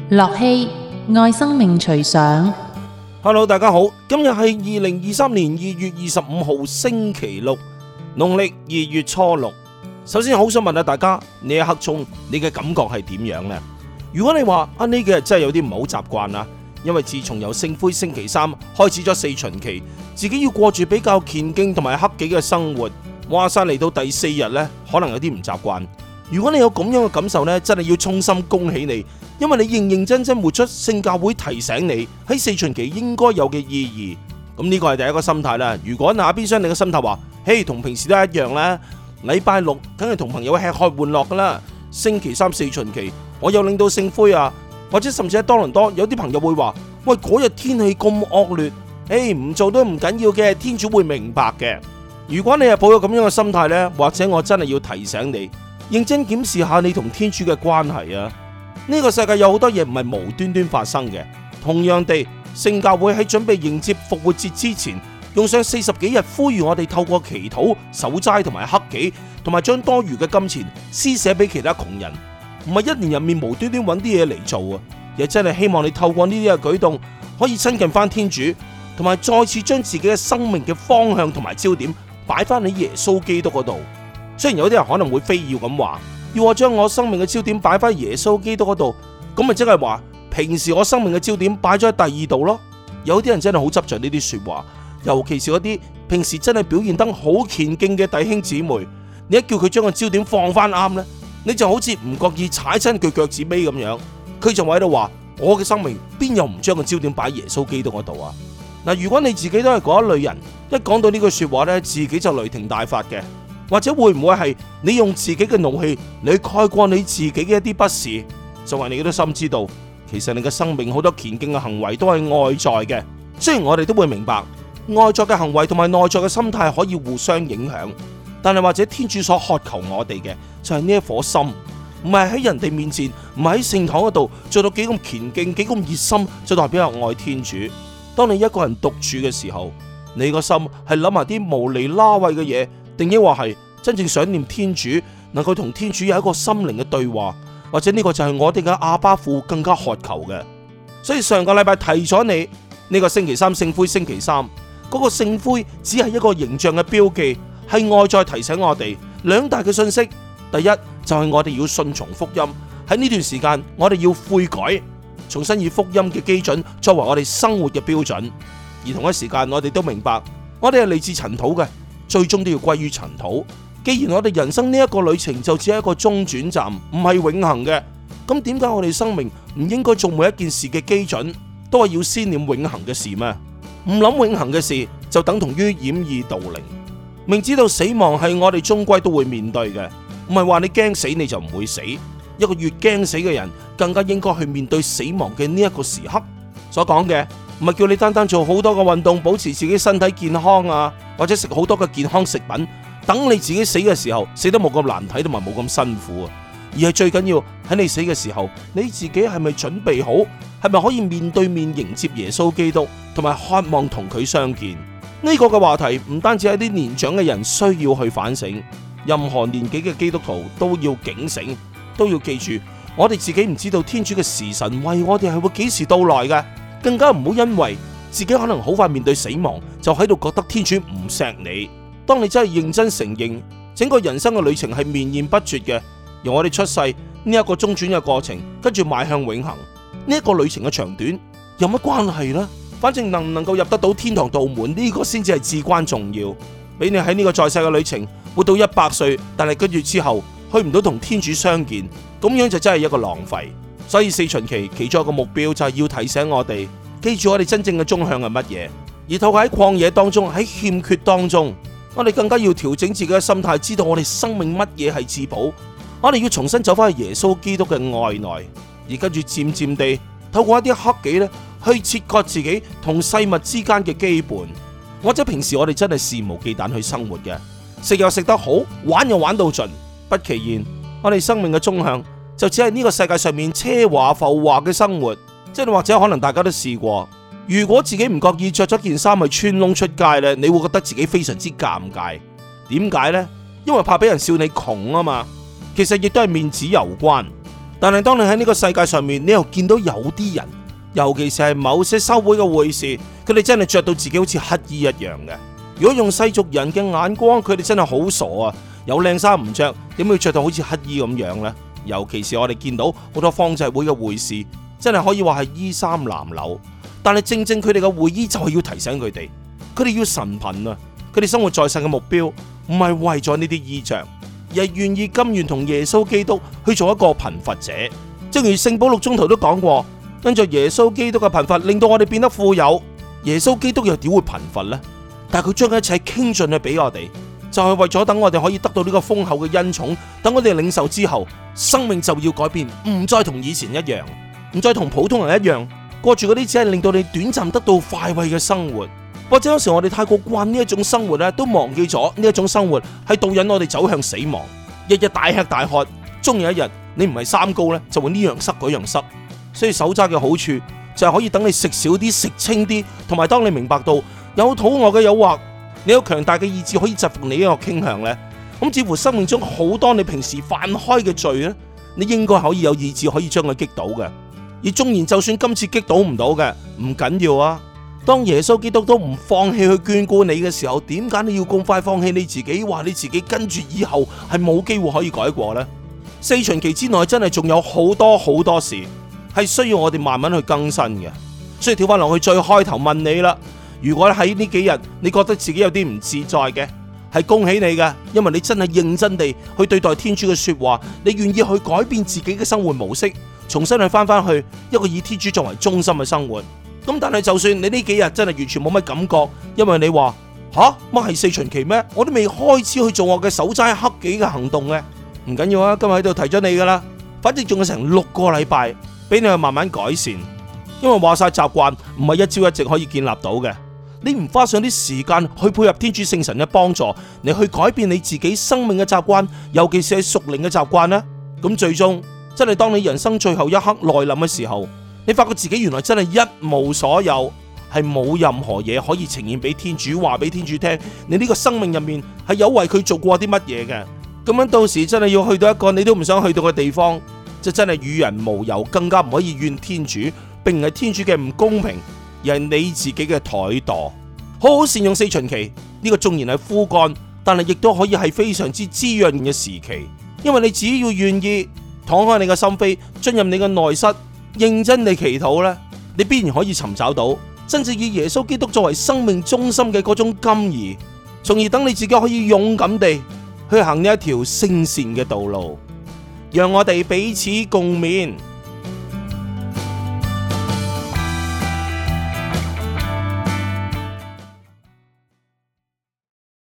樂熙愛生命隨想。 Hello， 大家好，今日係2023年2月25號星期六，農曆2月初六。首先好想問下大家，呢一刻鐘你嘅感覺係點樣呢？如果你話呢幾日真係有啲唔好習慣啦，因為自從由聖灰星期三開始咗四旬期，自己要過住比較虔敬同埋克己嘅生活，話晒嚟到第4日呢，可能有啲唔習慣。如果你有咁樣嘅感受呢，真係要衷心恭喜你，因為你認認真真活出聖教會提醒你喺四旬期應該有嘅意義。咁呢個係第一個心態啦。如果那邊廂你嘅心態話，嘿，同平時都一樣啦，禮拜六梗係同朋友吃喝玩樂噶啦，星期三四旬期我又領到聖灰啊，或者甚至喺多倫多有啲朋友會話，喂，嗰日天氣咁惡劣，唔做都唔緊要嘅，天主會明白嘅。如果你係抱有咁樣嘅心態呢，或者我真係要提醒你，認真檢視下你同天主嘅關係啊！呢個世界有好多嘢唔係無端端發生嘅。同樣地，聖教會喺準備迎接復活節之前，用上40幾日呼籲我哋透過祈禱、守齋同埋克己，同埋將多餘嘅金錢施捨俾其他窮人，唔係一年入面無端端揾啲嘢嚟做啊！亦真係希望你透過呢啲嘅舉動，可以親近翻天主，同埋再次將自己嘅生命嘅方向同埋焦點擺翻喺耶穌基督嗰度。雖然有啲人可能會非要咁話，要我將我生命嘅焦點擺翻耶穌基督嗰度，咁咪即係話平時我生命嘅焦點擺咗喺第二度咯。有啲人真係好執着呢啲說話，尤其是嗰啲平時真係表現得好虔敬嘅弟兄姊妹，你一叫佢將個焦點放翻啱呢，你就好似唔覺意踩親佢腳趾尾咁樣，佢就喺度話，我嘅生命邊有唔將個焦點擺耶穌基督嗰度啊？嗱，如果你自己都係嗰一類人，一講到呢句說話呢，自己就雷霆大發嘅。或者會唔會係你用自己嘅怒氣你蓋過你自己嘅一啲不是，就係你都心知道，其實你嘅生命好多虔敬嘅行為都係外在嘅。雖然我哋都會明白外在嘅行為同埋內在嘅心態可以互相影響，但係或者天主所渴求我哋嘅就係呢一顆心，唔係喺人哋面前，唔係喺聖堂嗰度做到幾咁虔敬幾咁熱心就代表有愛天主。當你一個人獨處嘅時候，你個心係諗埋啲無厘拉位嘅嘢，定抑或係真正想念天主，能夠同天主有一個心靈嘅對話，或者呢個就係我哋嘅阿爸父更加渴求嘅。所以上個禮拜提咗你呢個星期三聖灰星期三，嗰個聖灰只係一個形象嘅標記，係外在提醒我哋兩大嘅信息。第一就係我哋要順從福音，喺呢段時間我哋要悔改，重新以福音嘅基準作為我哋生活嘅標準。而同一時間我哋都明白，我哋係嚟自塵土嘅，最終都要歸於塵土。既然我哋人生呢一個旅程就只係一個中轉站，唔係永恆嘅，咁點解我哋生命唔應該做每一件事嘅基準都係要先念永恆嘅事咩？唔諗永恆嘅事就等同於掩耳盜鈴。明知道死亡係我哋終歸都會面對嘅，唔係話你驚死你就唔會死。一個越驚死嘅人，更加應該去面對死亡嘅呢一個時刻。所講嘅唔係叫你單單做好多嘅運動，保持自己身體健康啊，或者食好多嘅健康食品，等你自己死嘅時候死得冇咁難睇同埋冇咁辛苦啊。而係最緊要喺你死嘅時候，你自己係咪準備好，係咪可以面對面迎接耶穌基督，同埋渴望同佢相見？呢個嘅話題唔單止係啲年長嘅人需要去反省，任何年紀嘅基督徒都要警醒，都要記住，我哋自己唔知道天主嘅時辰為我哋係會幾時到來嘅。更加唔好因為自己可能好快面對死亡，就喺度覺得天主唔錫你。當你真係認真承認整個人生嘅旅程係綿延不絕嘅，由我哋出世呢一個中轉嘅過程，跟住邁向永恆，呢一個旅程嘅長短有乜關係呢？反正能唔能夠入得到天堂道門，呢個先至係至關重要。俾你喺呢個在世嘅旅程活到100歲，但係跟住之後去唔到同天主相見，咁樣就真係一個浪費。所以四旬期其中一個目標就係要提醒我哋，記住我哋真正嘅終向係乜嘢。而透過喺曠野當中，喺欠缺當中，我哋更加要調整自己嘅心態，知道我哋生命乜嘢係至寶。我哋要重新走翻去耶穌基督嘅愛內，而跟住漸漸地透過一啲克己咧，去切割自己同世物之間嘅羈絆。或者平時我哋真係肆無忌憚去生活嘅，食又食得好，玩又玩到盡，不其然我哋生命嘅終向就只係呢個世界上面奢華浮華嘅生活。即係或者可能大家都試過，如果自己唔覺意着咗件衫去穿窿出街呢，你會覺得自己非常之尷尬。點解呢？因為怕俾人笑你窮啊嘛。其實亦都係面子有關。 但係當你喺呢個世界上面，你又見到有啲人，尤其是係某些修會嘅會士，佢哋真係着到自己好似乞衣一樣嘅。如果用世俗人嘅眼光，佢哋真係好傻啊！有靚衫唔着，點會着到好似乞衣咁樣呢？尤其是我哋見到好多方濟會嘅會士，真係可以話係衣衫襤褸。但係正正佢哋嘅會衣就係要提醒佢哋，佢哋要神貧啊！佢哋生活在世嘅目標唔係為咗呢啲衣着，而係願意甘願同耶穌基督去做一個貧乏者。正如聖保祿宗徒都講過，因着耶穌基督嘅貧乏，令到我哋變得富有。耶穌基督又點會貧乏呢？但係佢將一切傾盡去俾我哋，就係為咗等我哋可以得到呢個豐厚嘅恩寵。等我哋領受之後，生命就要改變，唔再同以前一樣，唔再同普通人一樣過住嗰啲只係令到你短暫得到快慰嘅生活。或者有時我哋太過慣呢一種生活咧，都忘記咗呢一種生活係導引我哋走向死亡。日日大吃大喝，終有一日你唔係三高咧，就會呢樣塞嗰樣塞。所以手揸嘅好處就係可以等你食少啲，食清啲，同埋當你明白到有肚餓嘅誘惑，你有強大嘅意志可以制服你呢個傾向呢。咁似乎生命中好多你平時犯開嘅罪呢，你應該可以有意志可以將佢擊倒嘅。而縱然就算今次擊倒唔到嘅，唔緊要啊。當耶穌基督都唔放棄去眷顧你嘅時候，點解你要咁快放棄你自己，話你自己跟住以後係冇機會可以改過呢？四旬期之內真係仲有好多好多事係需要我哋慢慢去更新嘅。所以跳翻落去最開頭問你啦，如果喺呢幾日你覺得自己有啲唔自在嘅，係恭喜你嘅，因為你真係認真地去對待天主嘅說話，你願意去改變自己嘅生活模式，重新去翻去一個以天主作為中心嘅生活。咁但係就算你呢幾日真係完全冇乜感覺，因為你話乜係四旬期咩？我都未開始去做我嘅守齋克己嘅行動嘅，唔緊要啊！今日喺度提咗你噶啦，反正仲有成6個禮拜俾你去慢慢改善，因為話晒習慣唔係一朝一夕可以建立到嘅。你唔花上啲時間去配合天主聖神嘅幫助，你去改變你自己生命嘅習慣，尤其是係屬靈嘅習慣呢，咁最終真係當你人生最後一刻來臨嘅時候，你發覺自己原來真係一無所有，係冇任何嘢可以呈現俾天主，話俾天主聽，你呢個生命入面係有為佢做過啲乜嘢嘅。咁樣到時真係要去到一個你都唔想去到嘅地方，就真係與人無尤，更加唔可以怨天主，並唔係天主嘅唔公平，而係你自己嘅怠惰。好好善用四旬期，呢個縱然係枯乾，但係亦都可以係非常之滋潤嘅時期。因為你只要願意敞開你嘅心扉，進入你嘅內室，認真地祈禱呢，你必然可以尋找到真正以耶穌基督作為生命中心嘅嗰種甘怡，從而等你自己可以勇敢地去行呢一條聖善嘅道路。讓我哋彼此共勉。